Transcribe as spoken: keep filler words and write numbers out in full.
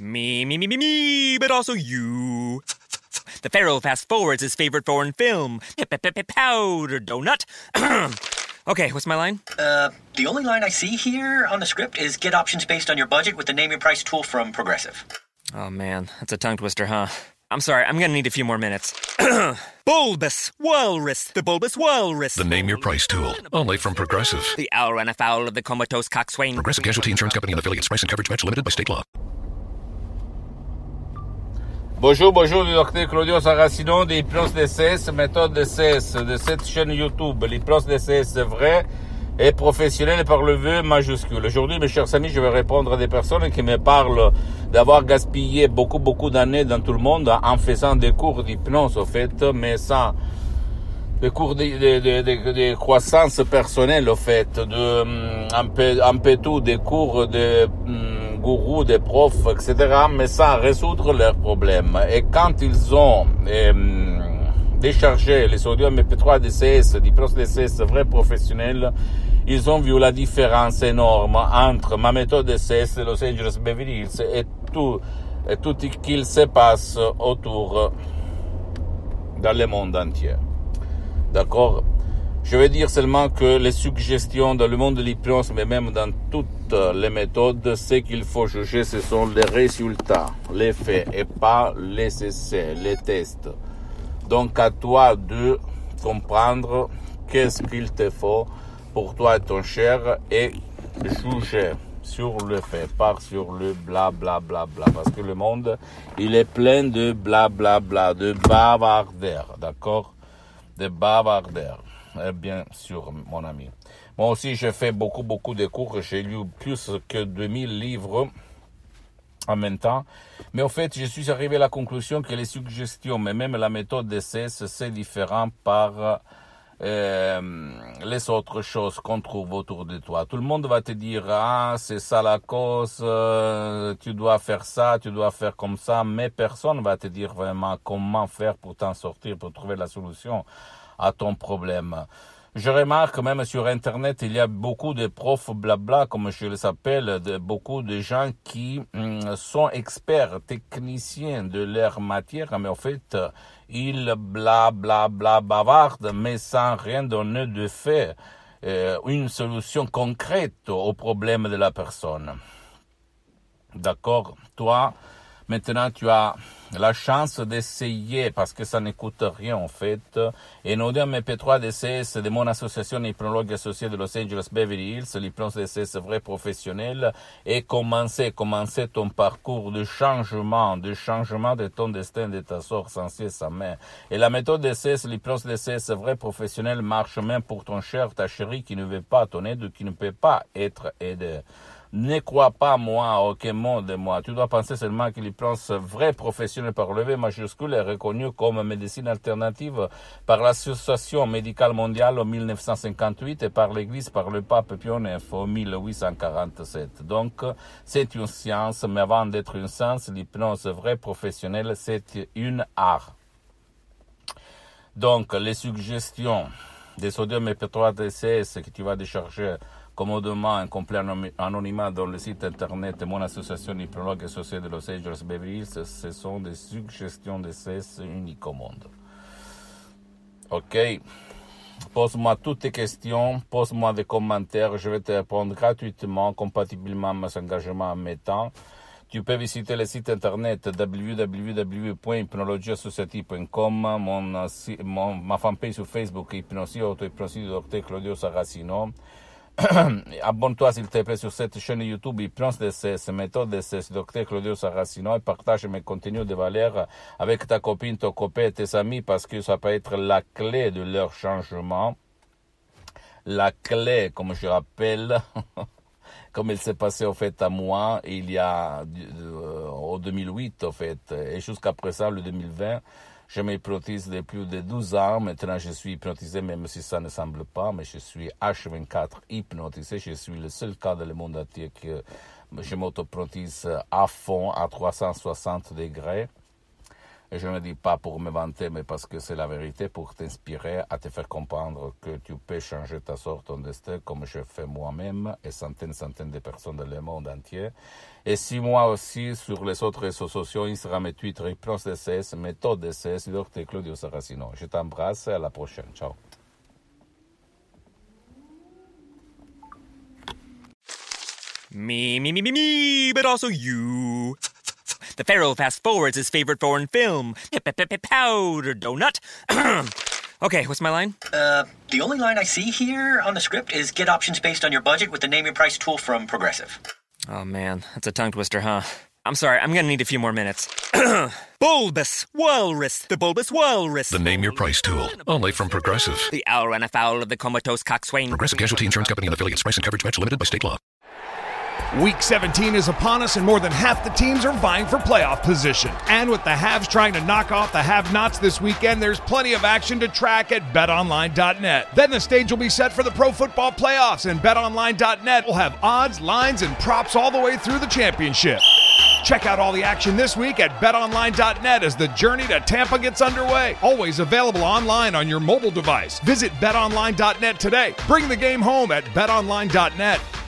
Me, me, me, me, me, but also you. The Pharaoh fast forwards his favorite foreign film, Powder Donut. Okay, what's my line? Uh, the only line I see here on the script is get options based on your budget with the Name Your Price tool from Progressive. Oh man, that's a tongue twister, huh? I'm sorry, I'm gonna need a few more minutes. Bulbous Walrus, the Bulbous Walrus. The Name Your Price tool, only from Progressive. The owl ran afoul of the comatose coxswain. Progressive Casualty Insurance Company and affiliates. Price and coverage match limited by state law. Bonjour, bonjour, le docteur Claudio Saracino de l'hypnose D C S, méthode D C S de cette chaîne YouTube. L'hypnose D C S vrai et professionnel par le vœu majuscule. Aujourd'hui, mes chers amis, je vais répondre à des personnes qui me parlent d'avoir gaspillé beaucoup, beaucoup d'années dans tout le monde en faisant des cours d'hypnose, au fait, mais sans des cours de, de, de, de, de croissance personnelle, au fait, de, un peu, un peu tout, des cours de, gourous, des profs, et cetera, mais sans résoudre leurs problèmes. Et quand ils ont euh, déchargé les audios M P trois D C S, l'hypnose D C S vrai professionnel, ils ont vu la différence énorme entre ma méthode D C S de Los Angeles Beverly Hills et tout, et tout ce qu'il se passe autour dans le monde entier. D'accord? Je veux dire seulement que les suggestions dans le monde de l'hypnose, mais même dans toutes les méthodes, ce qu'il faut juger, ce sont les résultats, les faits, et pas les essais, les tests. Donc, à toi de comprendre qu'est-ce qu'il te faut pour toi et ton cher, et juger sur le fait, pas sur le bla bla bla bla, parce que le monde, il est plein de bla bla bla, de bavardeurs, d'accord? De bavardeurs. Eh bien sûr, mon ami. Moi aussi, j'ai fait beaucoup, beaucoup de cours. J'ai lu plus que deux mille livres en même temps. Mais au fait, je suis arrivé à la conclusion que les suggestions, mais même la méthode D C S, c'est différent par euh, les autres choses qu'on trouve autour de toi. Tout le monde va te dire, ah, c'est ça la cause, euh, tu dois faire ça, tu dois faire comme ça, mais personne va te dire vraiment comment faire pour t'en sortir, pour trouver la solution à ton problème. Je remarque même sur Internet, il y a beaucoup de profs blabla, comme je les appelle, de, beaucoup de gens qui hum, sont experts, techniciens de leur matière, mais en fait, ils blabla bla, bavardent, mais sans rien donner de fait, euh, une solution concrète au problème de la personne. D'accord? Toi, maintenant, tu as la chance d'essayer, parce que ça ne coûte rien en fait, et nous M P trois D C S de mon association hypnologue associée de Los Angeles Beverly Hills, l'hypnose D C S vrai professionnel, et commencer, commencer ton parcours de changement, de changement de ton destin, de ta sort sans cesse sa main. Et la méthode D C S, l'hypnose D C S vrai professionnel marche même pour ton cher, ta chérie qui ne veut pas ton aide, qui ne peut pas être aidée. Ne crois pas moi à aucun mot de moi. Tu dois penser seulement que l'hypnose vrai professionnel par le V majuscule est reconnu comme médecine alternative par l'Association médicale mondiale en mille neuf cent cinquante-huit et par l'Église par le pape Pie neuf en mille huit cent quarante-sept. Donc, c'est une science, mais avant d'être une science, l'hypnose vrai professionnelle, c'est une art. Donc, les suggestions des sodium M P trois D C S que tu vas décharger commodément un complet anonymat dans le site internet de mon association hypnologue associée de Los Angeles Beverly Hills, ce sont des suggestions de C S uniques au monde. Ok? Pose-moi toutes tes questions, pose-moi des commentaires, je vais te répondre gratuitement, compatiblement à mes engagements en mes temps. Tu peux visiter le site internet w w w point hypnologie associative point com, mon, mon, ma fanpage sur Facebook, Hypnosie, auto-hypnosie du docteur Claudio Saracino. Abonne-toi s'il te plaît sur cette chaîne YouTube Hypnose D C S, méthode D C S, docteur Claudio Saracino, et partage mes contenus de valeur avec ta copine, ton copain et tes amis, parce que ça peut être la clé de leur changement. La clé, comme je rappelle, comme il s'est passé au fait à moi, il y a, euh, au deux mille huit au fait, et jusqu'à présent, le deux mille vingt, je m'hypnotise depuis plus de douze ans. Maintenant, je suis hypnotisé, même si ça ne semble pas, mais je suis H vingt-quatre hypnotisé. Je suis le seul cas dans le monde entier que je m'auto-hypnotise à fond, à trois cent soixante degrés. Et je ne dis pas pour me vanter, mais parce que c'est la vérité, pour t'inspirer, à te faire comprendre que tu peux changer ta sorte, ton destin, comme je fais moi-même, et centaines, centaines de personnes dans le monde entier. Et si moi aussi, sur les autres réseaux sociaux, Instagram et Twitter, Hypnose D C S, Méthode D C S, docteur Claudio Saracino. Je t'embrasse et à la prochaine. Ciao. Me, me, me, me, me, but also you. The Pharaoh fast forwards his favorite foreign film, Powder Donut. Okay, what's my line? Uh, the only line I see here on the script is get options based on your budget with the Name Your Price tool from Progressive. Oh man, that's a tongue twister, huh? I'm sorry, I'm gonna need a few more minutes. Bulbous Walrus, the Bulbous Walrus. The Name Your Price tool, only from Progressive. The owl ran afoul of the comatose coxswain. Progressive Casualty Insurance Company and affiliates. Price and coverage match limited by state law. Week seventeen is upon us, and more than half the teams are vying for playoff position. And with the haves trying to knock off the have-nots this weekend, there's plenty of action to track at bet online dot net. Then the stage will be set for the pro football playoffs, and bet online dot net will have odds, lines, and props all the way through the championship. Check out all the action this week at bet online dot net as the journey to Tampa gets underway. Always available online on your mobile device. Visit bet online dot net today. Bring the game home at bet online dot net.